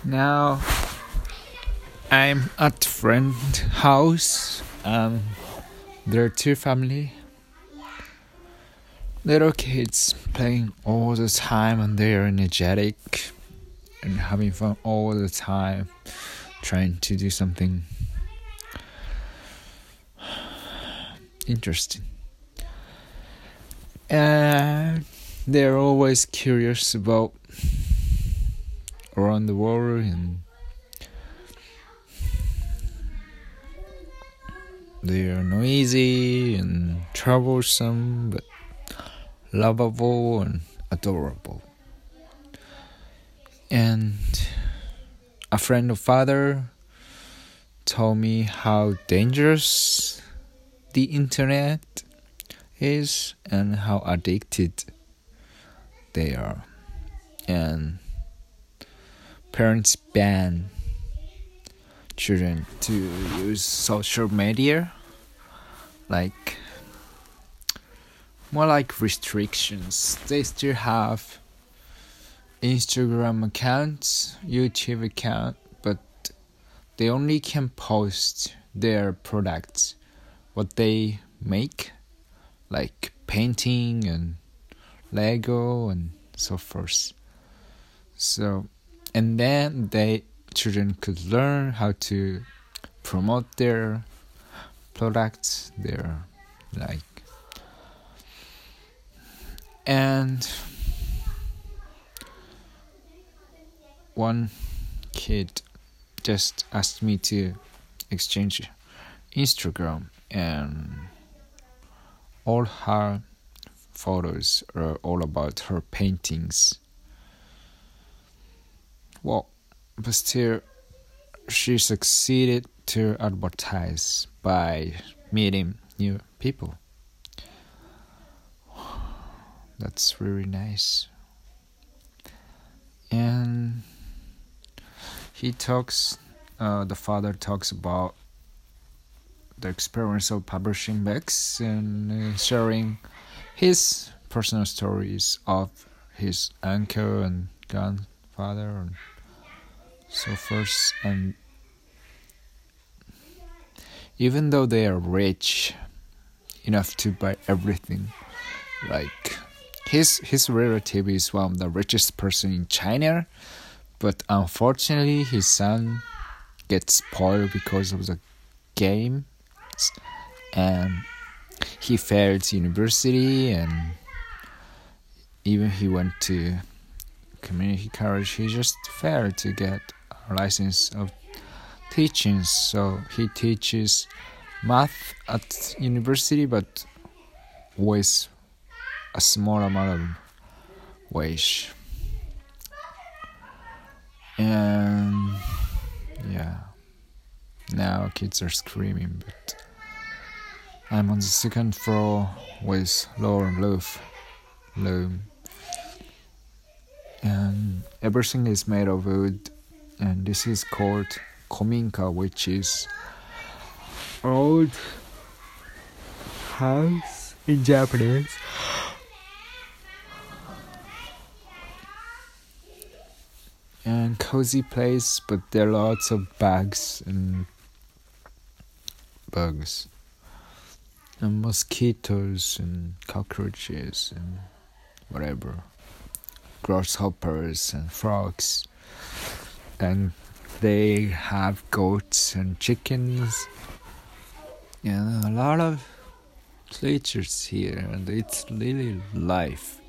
Now I'm at friend's house. There are two family. Little kids playing all the time and they're energetic and having fun all the time, trying to do something interesting. And they're always curious about around the world, and they are noisy and troublesome, but lovable and adorable. And a friend of father told me how dangerous the internet is and how addicted they are. And parents ban children to use social media, more like restrictions. They still have Instagram accounts, YouTube account, but they only can post their products, what they make, like painting and Lego and so forth. And then children could learn how to promote their products, and one kid just asked me to exchange Instagram, and all her photos are all about her paintings. Well, but still, she succeeded to advertise by meeting new people. That's really nice. And the father talks about the experience of publishing books and sharing his personal stories of his uncle and grandfather and so forth. And even though they are rich enough to buy everything, like his relative is one of the richest person in China, but unfortunately his son gets spoiled because of the game, and he failed university, and even he went to community college, he just failed to get a license of teaching. So he teaches math at university, but with a small amount of wage. And now kids are screaming, but I'm on the second floor with lower roof, and everything is made of wood, and this is called kominka, which is old house in Japanese. And cozy place, but there are lots of bugs and mosquitoes and cockroaches and whatever, grasshoppers and frogs, and they have goats and chickens and a lot of creatures here, and it's really life,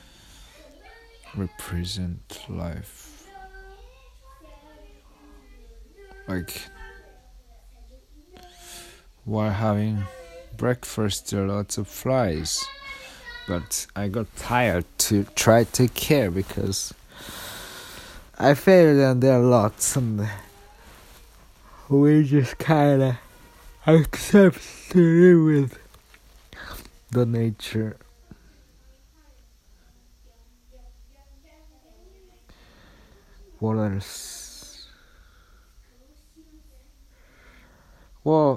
represent life. Like, while having breakfast, there are lots of flies, but I got tired to try to take care because I failed, and there are lots, and we just kinda accept to live with the nature. What else? Well,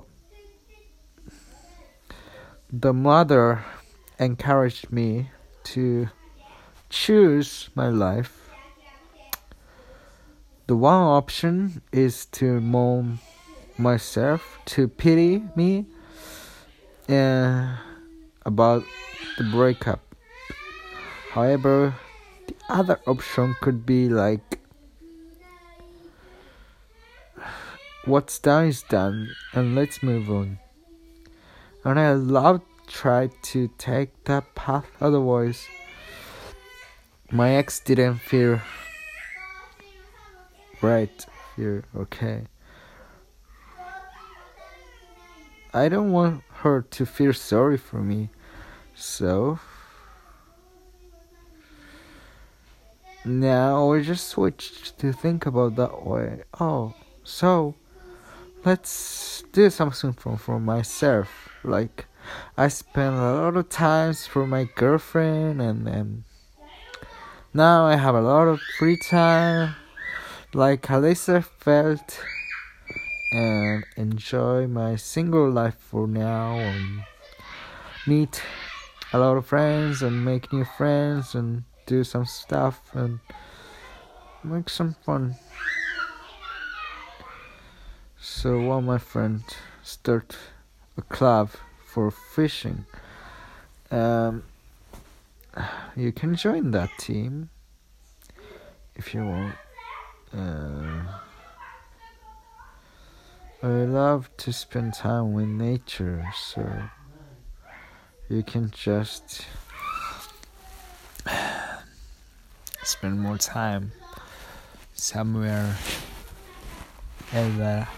the mother encouraged me to choose my life The one option is to moan myself, to pity me about the breakup. However, the other option could be like, what's done is done, and let's move on. And I love try to take that path, otherwise my ex didn't feel right, feel okay. I don't want her to feel sorry for me, so now I just switched to think about that way. Oh, so let's do something for myself. Like, I spent a lot of times for my girlfriend, and then now I have a lot of free time, like Alyssa felt, and enjoy my single life for now, and meet a lot of friends and make new friends and do some stuff and make some fun. So one of my friends start a club for fishing. You can join that team if you want. I love to spend time with nature, so you can just spend more time somewhere and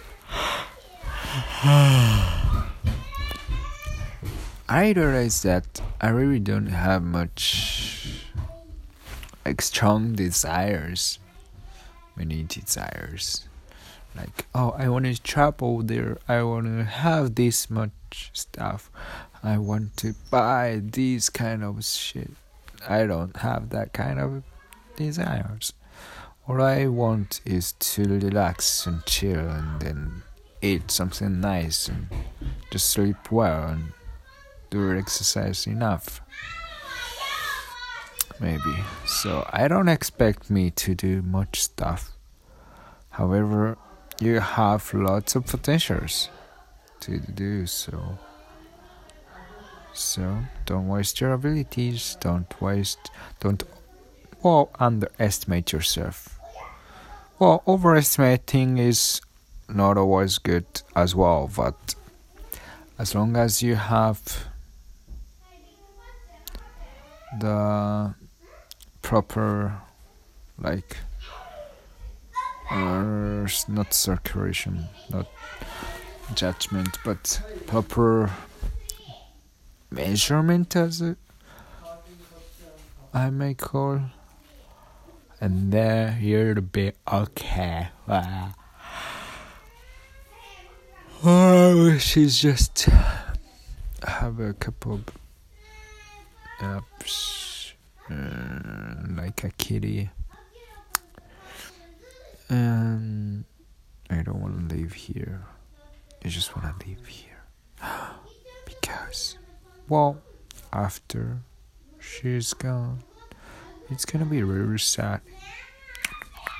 I realized that I really don't have much strong desires, many desires. Like, oh, I want to travel there, I want to have this much stuff, I want to buy this kind of shit. I don't have that kind of desires. All I want is to relax and chill and then eat something nice and just sleep well and do exercise enough. Maybe. So I don't expect me to do much stuff. However, you have lots of potentials to do so. So don't waste your abilities. Don't underestimate yourself. Well, overestimating is not always good as well, but as long as you have the proper, like, not circulation, not judgment, but proper measurement, as I may call, and there you'll be okay. Oh, she's just have a couple of apps, like a kitty, and I don't want to live here. I just want to live here because, well, after she's gone, it's gonna be really sad.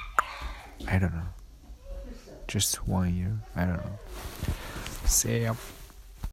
I don't know. Just 1 year. I don't know. See ya.